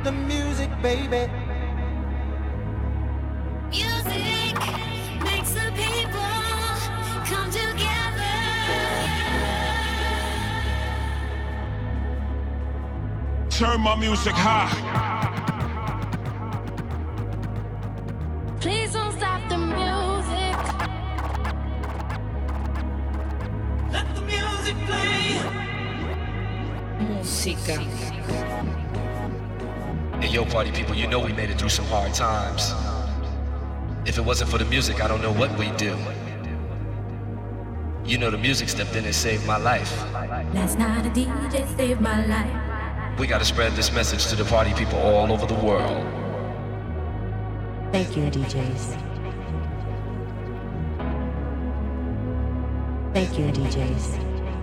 the music, baby. Music makes the people come together. Turn my music high. Please don't stop the music. Let the music play. Musica. Hey, yo, party people, you know we made it through some hard times. If it wasn't for the music, I don't know what we'd do. You know the music stepped in and saved my life. Last night a DJ saved my life. We gotta spread this message to the party people all over the world. Thank you, DJs. Thank you, DJs.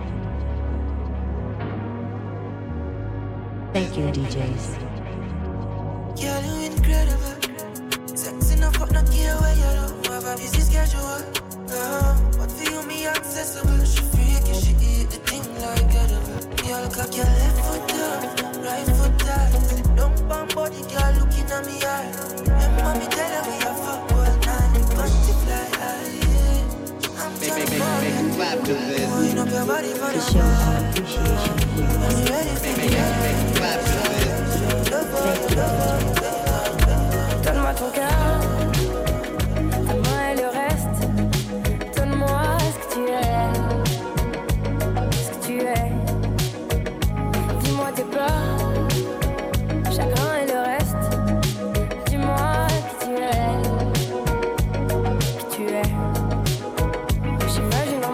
Thank you, DJs. Girl, you incredible. Sex enough, but not care where you don't have a busy schedule. But for you, me accessible. She freaky, she eat the thing like edible. Girl, cock your left foot down, right foot down. Sit down, bam body, girl, looking at me eye. Remember me tell her we a fuck all night. Bunty fly high. I'm trying to clap to this. wind up your body for the show our appreciation for you. I'm ready for me. Clap to this. Donne-moi ton cœur, donne-moi le reste. Donne-moi ce que tu es, ce que tu es. Dis-moi tes peurs, chagrin et le reste. Dis-moi qui tu es, qui tu es. J'imagine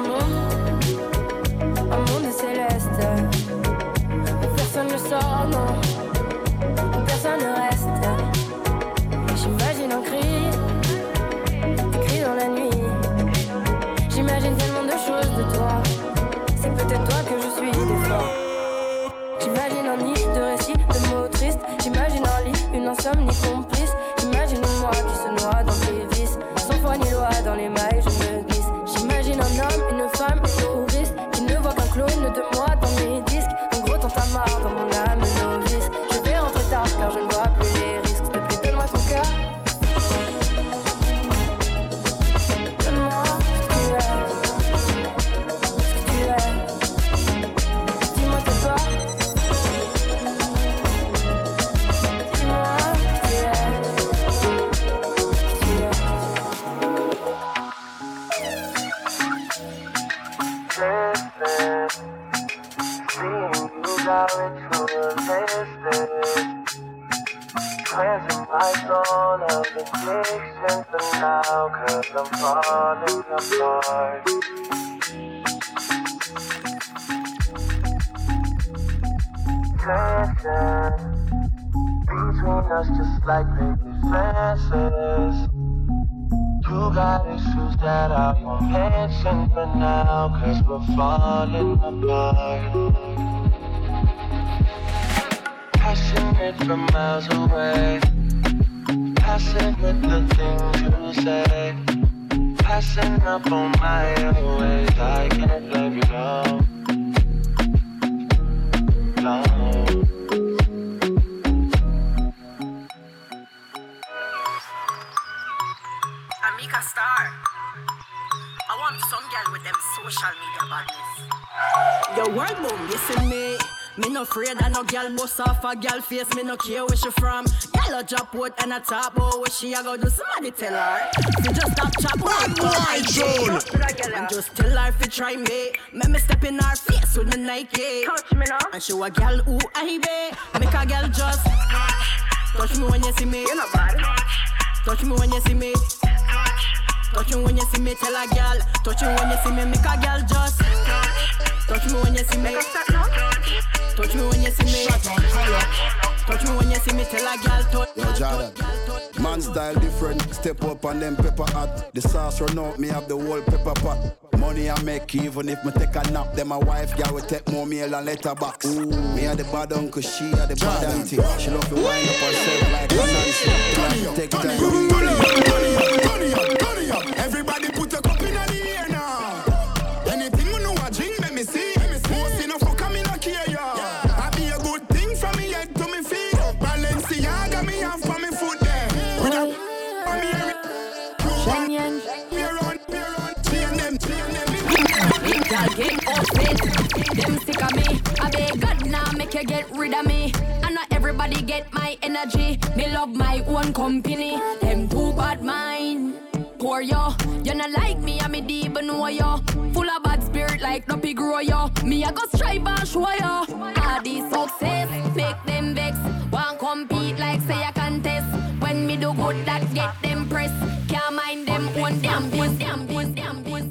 un monde céleste. Où personne ne sort, non, où personne ne reste. J'imagine un cri dans la nuit. J'imagine tellement de choses de toi. C'est peut-être toi que je suis des fois. J'imagine un nid de récits, de mots tristes. J'imagine un lit, une insomnie complice. J'imagine moi qui se noie dans tes vices. Sans foi ni loi dans les mailles, je me glisse. J'imagine un homme, une femme, une touriste qui ne voit qu'un clone de moi dans mes disques. En gros, t'en t'as marre dans mon âme novice. Je vais rentrer tard car je ne vois plus les risques. S'il te plaît, donne-moi ton cœur. Donne-moi ce que tu es, ce que tu es. Dis-moi tes peurs. Dis-moi qui tu es, qui tu es. Cleansing my soul of addiction for now, 'cause I'm falling apart. Tension between us just like baby fences. You got issues that I won't mention for now, 'cause we're falling apart. Passionate from miles away, passing with the things you say, passing up on my ways. I can't let you go. No. Amika Star, I want some girl with them social media badness. Your world boom, you see me. Me no afraid of no girl bust off a girl face. Me no care where she from. Girl a drop out and a top out. Where she a go do? Somebody tell her. She just stop chop one boy June. And just tell her fi try me. Make me step in her face with the Nike. Touch me now. And show a girl who I be. Make a girl just touch me when you see me. You're not bad. Touch me when you see me. Touch me when you see me. Tell a girl. Touch me when you see me. Make a girl just touch me when you see me. Touch me when you see me. Touch me when you see me. Tell a girl touch. Yo, Jordan. Man style different. Step up and them pepper hot. The sauce run out. Me have the whole pepper pot. Money I make even if me take a nap. Then my wife girl will take more meal and letter box. Me are the bad uncle. She are the bad auntie. She love to wind up herself like a Nancy. Take time. Turn it up. Everybody put a cup in the air now. Anything you know I drink, let me see. Most enough for coming up here, yeah. I be a good thing from me head to me feet. Balenciaga. make you get rid of me. And not everybody get my energy. Me love my own company. Them too bad mind. Poor yo, you not like me, and me deep even know yo. Full of bad spirit like Duppy grow yo. Me I go strive and show yo. All these success make them vex. Want compete like say I contest. When me do good that get them press. Can't mind them one damn piece, damn piece, damn piece.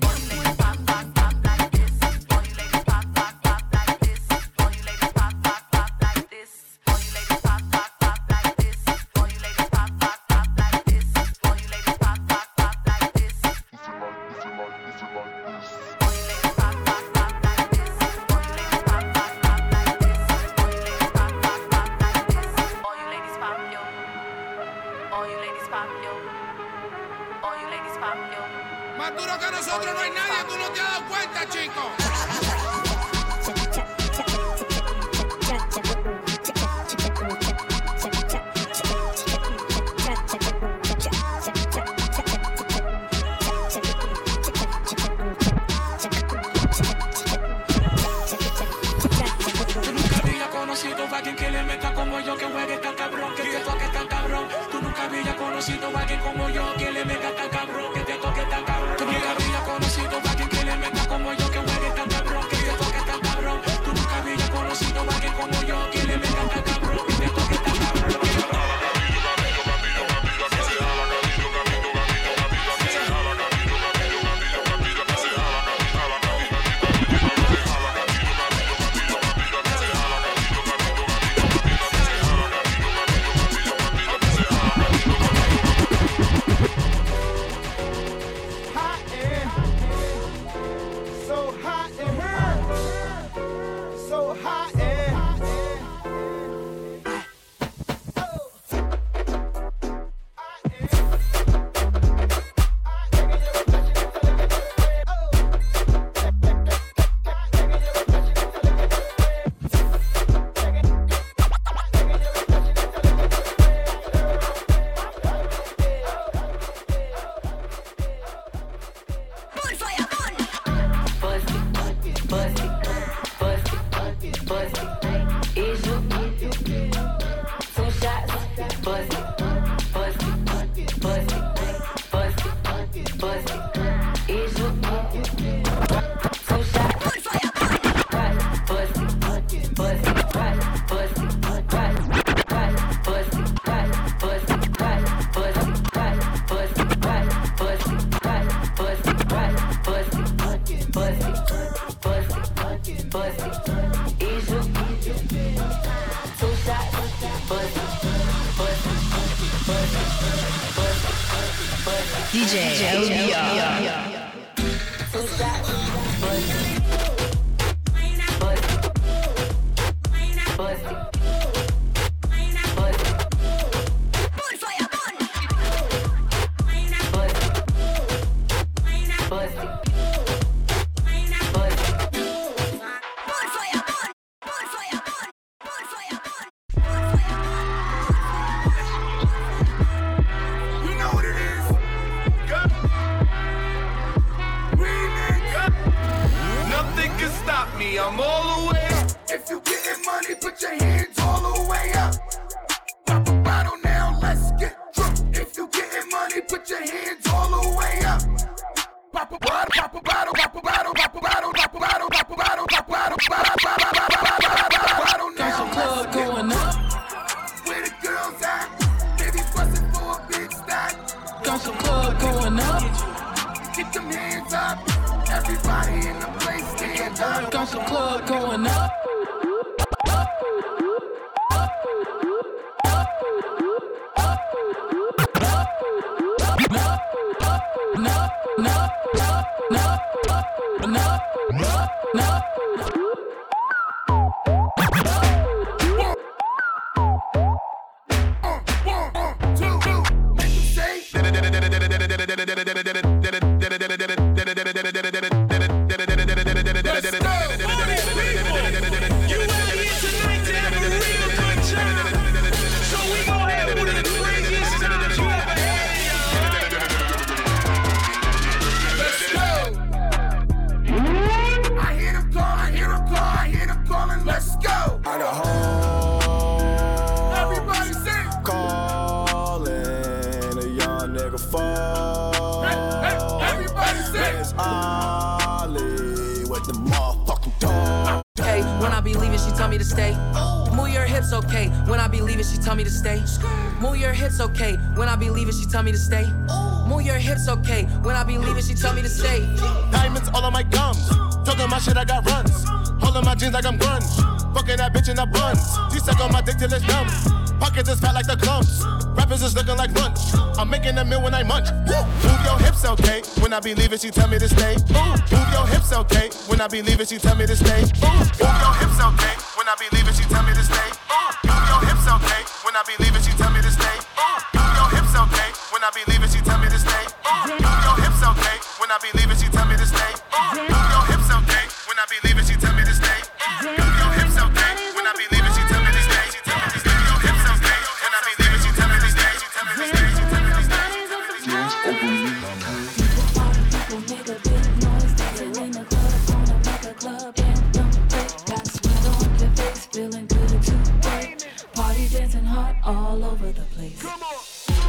Más duro que nosotros no hay nadie, tú no te has dado cuenta, chico. Conocido a alguien que le meta como yo, que juegue tan cabrón, que te toque tan cabrón. Tú nunca habías conocido a alguien como yo, que le meta tan cabrón, que te toque tan cabrón. Tú nunca habías conocido a alguien que le meta como yo, que juegue tan cabrón, que te toque tan cabrón. Tú nunca habías conocido a alguien como yo, que le meta tan cabrón, que te toque tan cabrón. Move your hips, okay. When I be leaving, she tell me to stay. Move your hips, okay. When I be leaving, she tell me to stay. Move your hips, okay. When I be leaving, she tell me to stay. Diamonds all on my gums. Talking my shit, I got runs. Holding my jeans like I'm grunge. Fucking that bitch in the buns. She suck on my dick till it's numb. Pockets is fat like the clumps. Rappers is looking like lunch. I'm making a meal when I munch. Move your hips, okay. When I be leaving, she tell me to stay. Move your hips, okay. When I be leaving, she tell me to stay. Move your hips, okay. When I be leaving, she tell me to stay. Move your hips, okay. When I be leaving, she tell me to stay. Move your hips, okay. When I be leaving, she tell me to stay. Move your hips, okay. When I be leaving, she tell me to stay. Move your hips, okay. When I be leaving, she tell me to stay. Move your hips, okay. When I be leaving, she tell me to stay. She tell me to stay. Your hips, okay. When I be leaving, she tell me to stay. She tell me to stay. She tell me to stay. People make a big noise, dancing in the club, wanna make a club anthem. Got sweat on your face, feeling good today. Party dancing hot all over the place. Come on.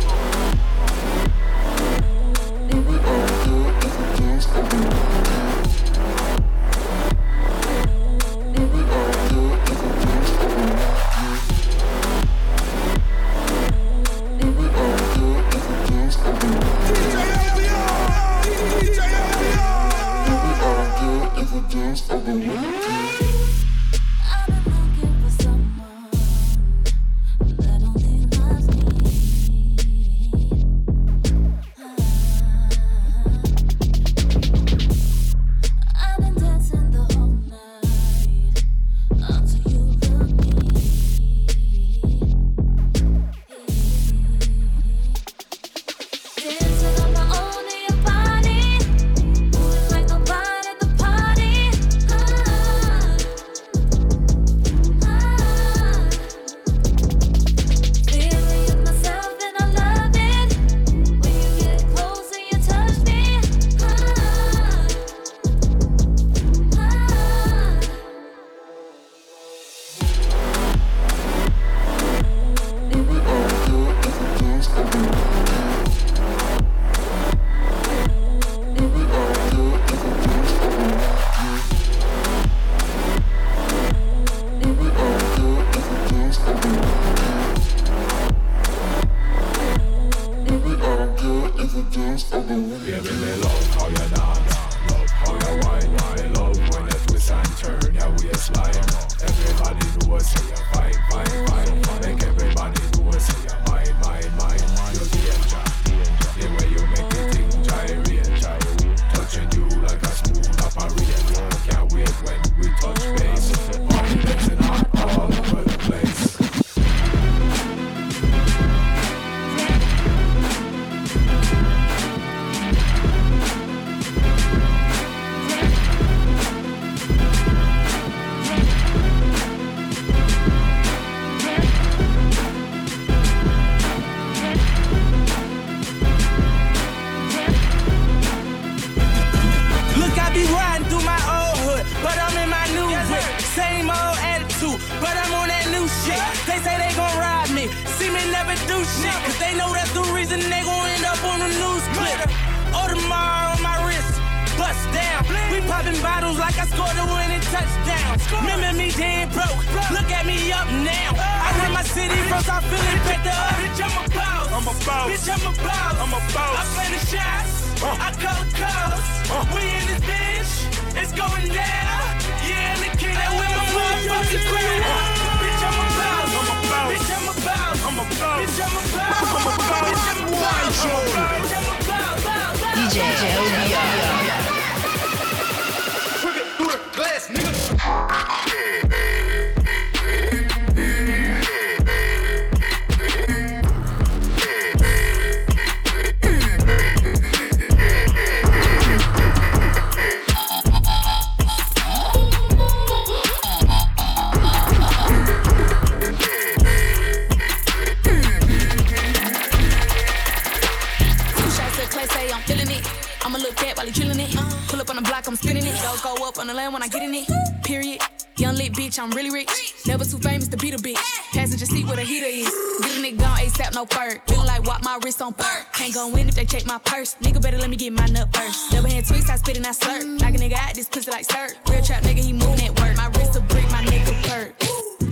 I'm really rich, never too famous to beat a bitch. Passenger seat where the heater is. Get a nigga gone ASAP, no fur. Feeling like walk my wrist on fur. Can't go in if they check my purse. Nigga better let me get my nut first. Double hand twist, I spit and I slurp. Knock a nigga out this pussy like sir. Real trap nigga, he moving at work. My wrist a brick, my nigga perk.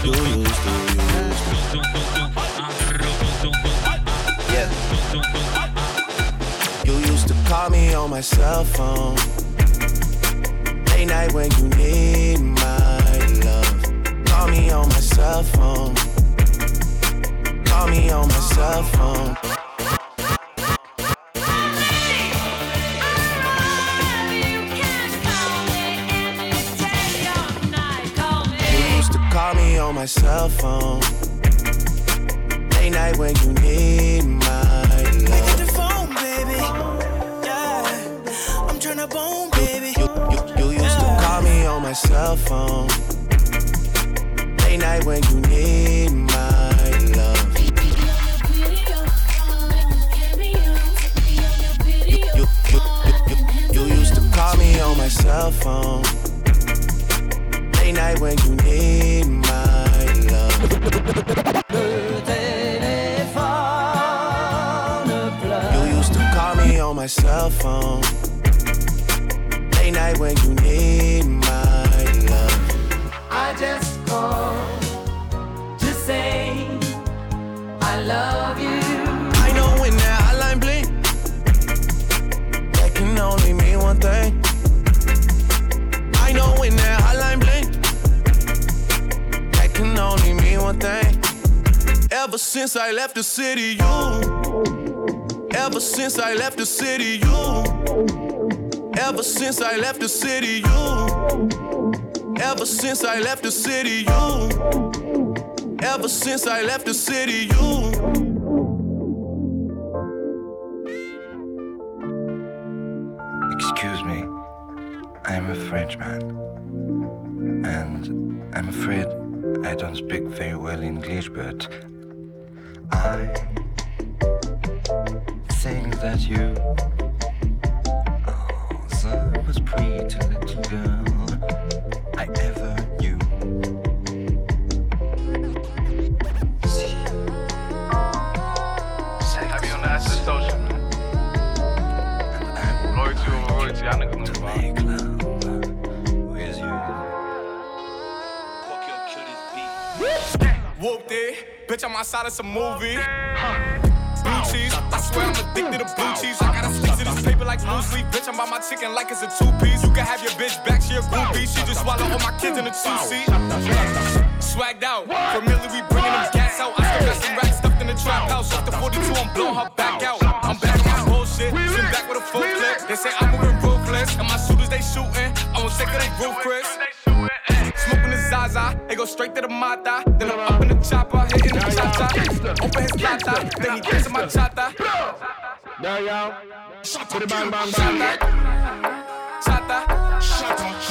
Yeah. You used to call me on my cell phone. Late night when you need my love. Call me on my cell phone. Call me on my cell phone. You used to call me on my cell phone. Late night when you need my love. Pick up the phone, baby. Yeah, I'm tryna bone, baby. You used to call me on my cell phone. Late night when you need my love. You used to call me on my cell phone. Late night when you need my love. You used to call me on my cell phone. Late night when you need my love. I just called to say I love you. I know when that hotline blink, that can only mean one thing. I know when that hotline blink, that can only mean one thing. Ever since I left the city, you. Ever since I left the city, you. Ever since I left the city, you. Ever since I left the city, you. Ever since I left the city, you. Excuse me, I'm a Frenchman, and I'm afraid I don't speak very well English, but I think that you are the most pretty little girl I ever knew. I be on the acid social, man. Loyalty over royalty, I niggas know about. With you. Whooped it, bitch, I'm outside of some movie. Blue cheese, I swear I'm addicted to blue cheese. I gotta stick to this paper like blue sleep. Bitch, I'm by my chicken like it's a two-piece. You can have your bitch back, she a groupie. She just swallow all my kids in a two-seat. Swagged out, familiar, we bringing them gas out. I still got some racks stuffed in the trap house. Off the 42, I'm blowing her back out. I'm back on my bullshit, sitting back with a full clip. They say I'm moving ruthless, and my shooters they shooting. I won't take of they roof, Chris. Smoking the Zaza, they go straight to the Mata. Then I'm up in the chopper, hitting the cha-cha. Open his lata, then he gets in my chata. Yeah, yeah. Shut up, bang, bang, bang. Chata, shut up,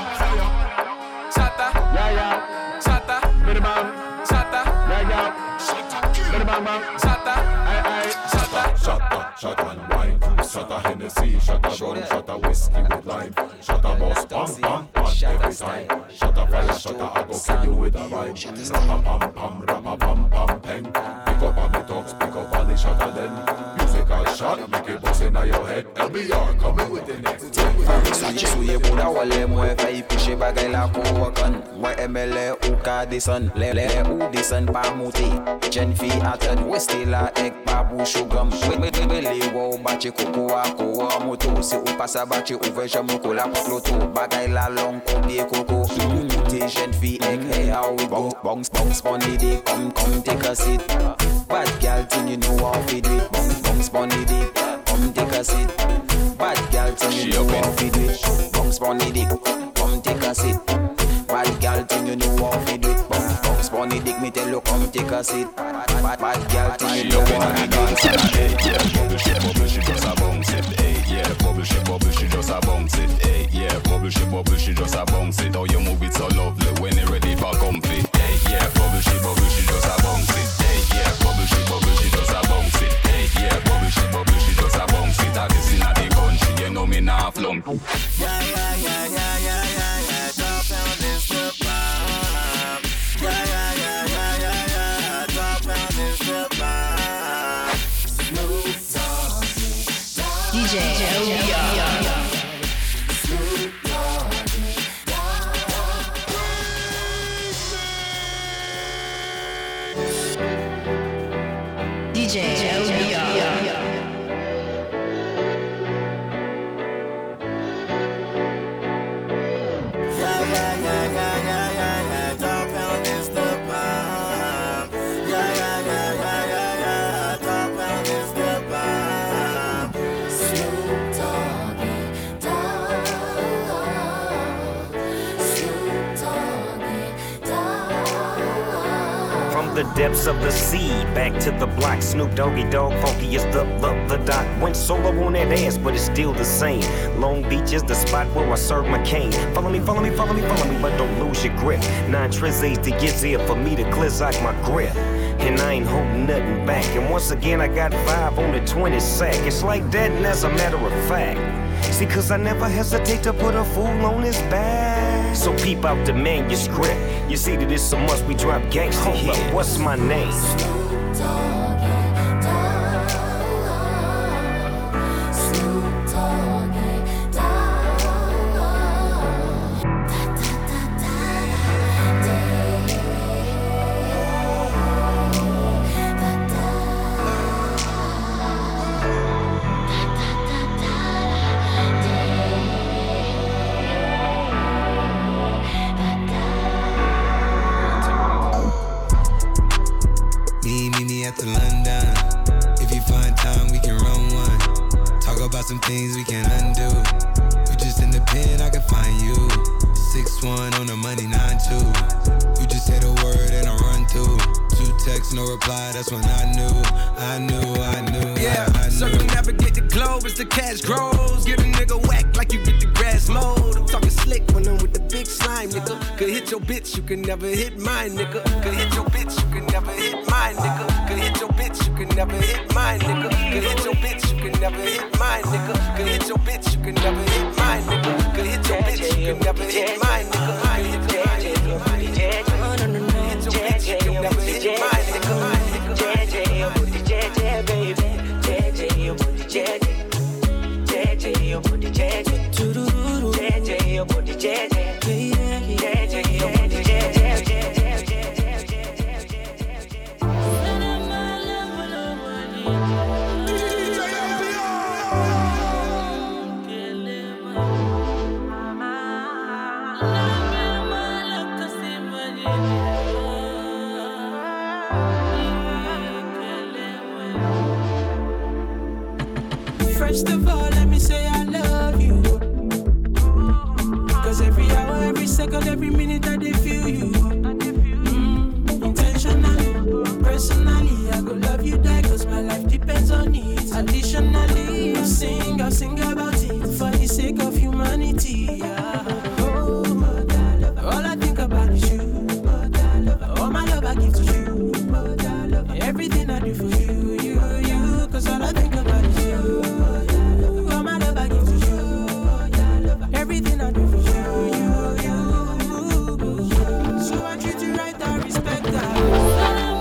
chata, yeah, yeah. Chata, Bit bang, chata, yeah, yeah. Shut up, bit bang, bang. Chata, aye, chata, shut and wine. Shut a Hennessy, shut a rum, shut a whiskey with lime. Shut a boss, pam, pam, pam, every time. Shut a fire, shut a, I go kill you with a rhyme. Rapa pam, pam, rapa pam, pam, peng. Pick up on the talks, pick up on the shut a then. Musical shot, make it bust in your head. LBR, coming with the next thing. Sache souye bouda wale mwen fay piche bagay la kon wakan. Mwen emele ou ka desan, le ou desan pa mouti. Jen fi atan, weste la ek pa bouchou gam. Wele wow bache koko a kowa moto. Se ou pasa bache ouve jamo ko la pot loto. Bagay la long koubie koko. Te jen fi ek hey how we go. Bounce bunny dick, come take a seat. Bad girl thing you know how we do it. Bounce bunny dick, come take a seat. Bad girl thing you know how we do it. Bounce bunny dick, come take a seat. Bad girl thing you know how we do it. Bounce bunny dick, me tell you come take a seat. Bad girl thing you know how we do it. Yeah, bubble she just a bounce it. Hey, yeah, bubble she just a bounce it. Hey, yeah, bubble she just a bounce it. Oh, you move it so lovely when you're ready for comfy. Hey, yeah, bubble she just a bounce it. Hey, yeah, bubble she just a bounce it. Hey, yeah, bubble she just a bounce it. I guess in the country, you know me nah flunk. DJ LBR. The depths of the sea, back to the block. Snoop Doggy Dogg, funky is the doc. Went solo on that ass, but it's still the same. Long Beach is the spot where I serve my cane. Follow me, but don't lose your grip. 9 trizzies to get here for me to clizzock my grip. And I ain't holding nothing back. And once again, I got 5 on the 20 sack. It's like that, and as a matter of fact. See, cause I never hesitate to put a fool on his back. So peep out the manuscript. You see that it's a must, we drop gangsta here. What's my name? Some things we can't undo. You just in the pen, I can find you. 6'1" on the money, 9'2". You just say the word and I run through. 2 texts, no reply, that's when I knew. Yeah, circumnavigate the globe as the cash grows. Get a nigga whack like you get the grass mowed. I'm talking slick when I'm with the big slime, nigga. Could hit your bitch, you can never hit mine, nigga. Could hit your bitch, you can never hit mine, nigga. Could hit your bitch, you can never hit mine, nigga. Could hit your bitch, you can never hit mine, nigga. Could hit your bitch, you can never hit mine, nigga. Could hit your bitch, you can never hit mine, nigga. Could hit your bitch, you can never hit mine, nigga. JJ, your booty, JJ, baby. JJ, your booty, JJ. JJ, your booty, JJ. JJ, your booty, JJ. JJ, your booty, JJ. First of all, let me say I love you. Cause every hour, every second, every minute I dey feel you. Intentionally, personally, I go love you die cause my life depends on it. Additionally, I'll sing about it for the sake of humanity. Oh, all I think about is you. All my love I give to you. Everything I do for you, you. Cause all I think about is you. All my love I give to you. Everything I do for you, you. So I treat you right, I respect that.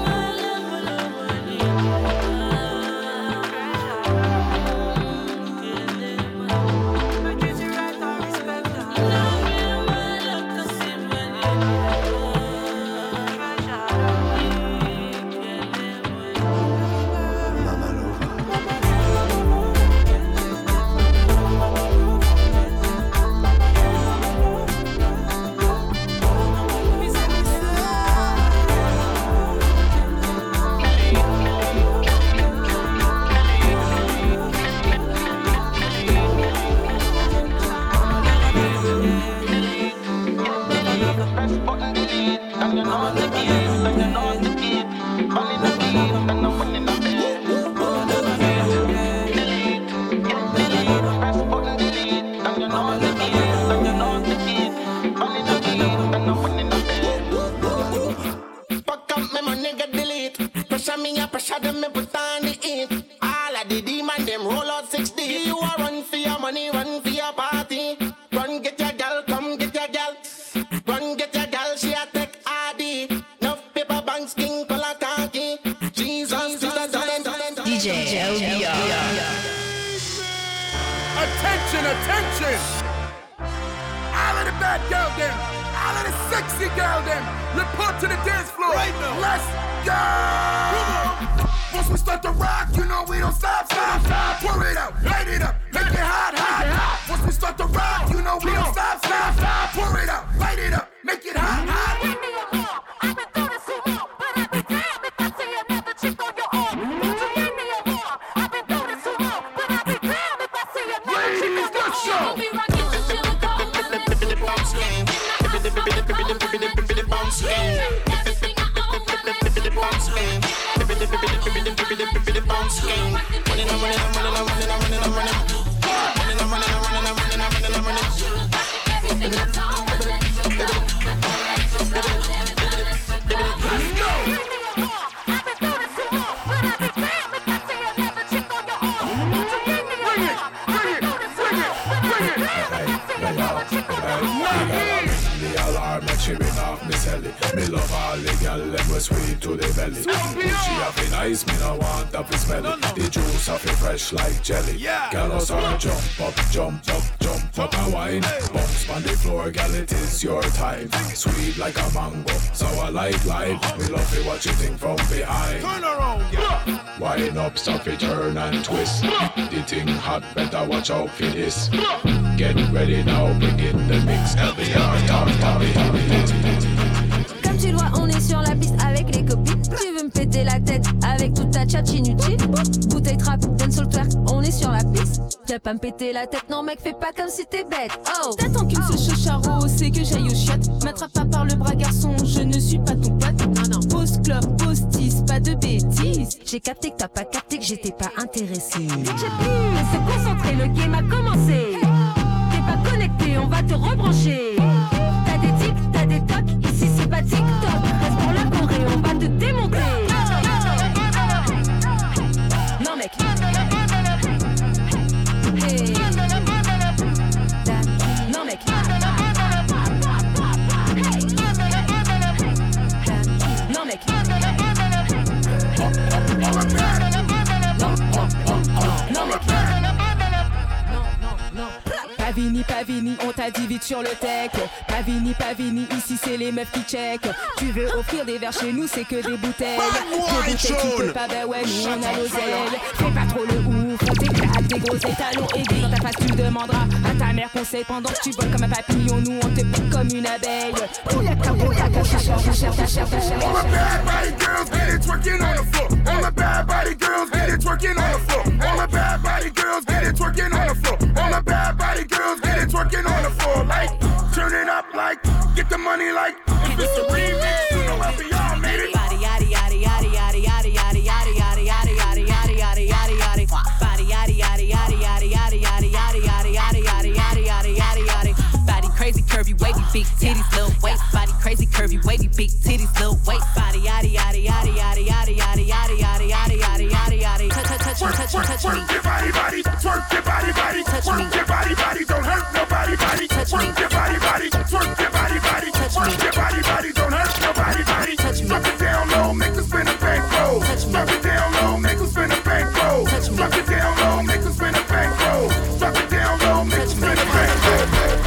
Attention! All of the bad girl them, all of the sexy girl them, report to the dance floor. right now. Let's go. Once we start to rock, you know we don't stop. Pour it out, light it up, make it hot. Once we start to rock, you know we don't stop. Pour it out, light it up, make it hot. Me love all the gal, them was sweet to the belly. She have it nice, me no want to be smelly. The juice of it fresh like jelly. Gal us all jump up, and wine. Bounce on the floor, gal, it is your time. Sweet like a mango, sour like lime. Me love it, what you think from behind. Turn around, yeah. Wind up, stop it, turn and twist. The thing hot, better watch out for this. Get ready now, bring in the mix. LBR, talk. Comme tu le vois, on est sur la piste avec les copines. Tu veux me péter la tête avec toute ta tchatch inutile. Bouteille trap, dancehall twerk, on est sur la piste. Tu vas pas me péter la tête, non mec, fais pas comme si t'es bête. Oh, t'attends qu'une seule chose charo, c'est que j'aille au chiottes. M'attrape pas par le bras garçon, je ne suis pas ton pote. Non, pause club, pause tease, pas de bêtises. J'ai capté que t'as pas capté que j'étais pas intéressée. J'ai pu se concentrer, le game a commencé. T'es pas connecté, on va te rebrancher. T'as des tics, t'as des tocs, ici c'est pas TikTok. Reste pour la Corée, on va te démonter. Non mec. Hey. Non mec. Non mec. Non mec. Pavini, on t'a dit vite sur le tech. Pavini, ici c'est les meufs qui check. Tu veux offrir des verres chez nous, c'est que des bouteilles. Des bouteilles qui peut pas, bah ouais, nous on a l'oseille. Fais pas trop le ouf, on t'éclate des gros étalons aiguilles. Dans ta face tu demanderas à ta mère conseil. Pendant que tu voles comme un papillon, nous on te pique comme une abeille. Bouyaka, ta chair. All the bad body girls get it twerking on the floor. All the bad body girls get it twerking on the floor. All the bad body girls get it twerking on the floor. All the bad body girls get it twerking on the floor. Like, turn it up like, get the money like, if it's a remix, you know what we all made it. Body yaddy yaddy yaddy yaddy yaddy yaddy yaddy yaddy yaddy yaddy yaddy yaddy yaddy yaddy. Body yaddy yaddy yaddy yaddy yaddy yaddy yaddy yaddy yaddy yaddy yaddy yaddy yaddy yaddy. Body crazy curvy wavy big titties little waist. Body crazy curvy wavy big titties little waist. Body yaddy yaddy yaddy yaddy yaddy yaddy yaddy yaddy yaddy yaddy yaddy yaddy. Touch me. Twerk your body, twerk your body, touch me. Twerk your body, don't hurt nobody, touch me. Twerk your body, twerk your body, twerk your body, don't hurt nobody, touch me. Drop it down low, make us spin a bankroll. Drop it down low, make us spin a bankroll. Drop it down low, make us spin a bankroll. Drop it down low, make us spin a bankroll.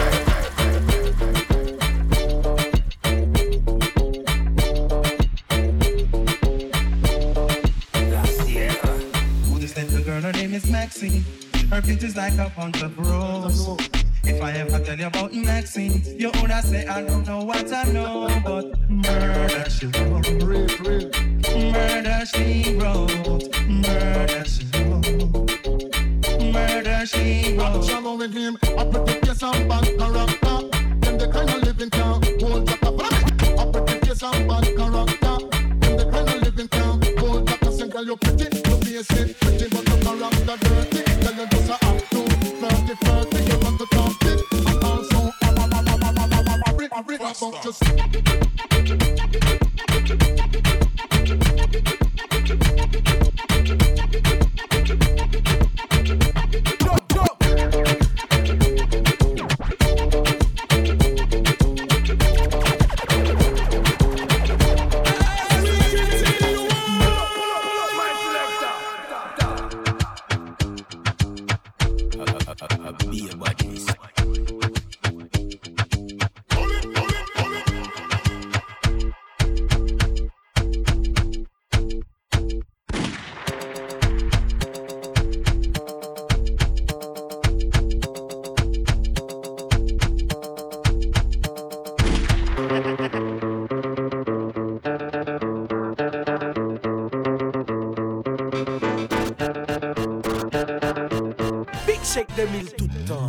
Her name is Maxine. Her picture's like a bunch of roses. If I ever tell you about Maxine, you would say I don't know what I know, but murder she wrote. Murder she wrote. Murder she wrote. Murder she wrote. Shallow with him, I protect your some bad character. Them the kind of living town, hold up a flag. I protect your some bad character. Them the kind of living town, hold up a single. You're pretty, you're basic, pretty but the character dirty. Tell you just a act too flirty. You want to talk it, and also about just. Check 2000 tout le temps.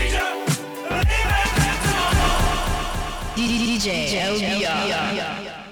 DJ LBR.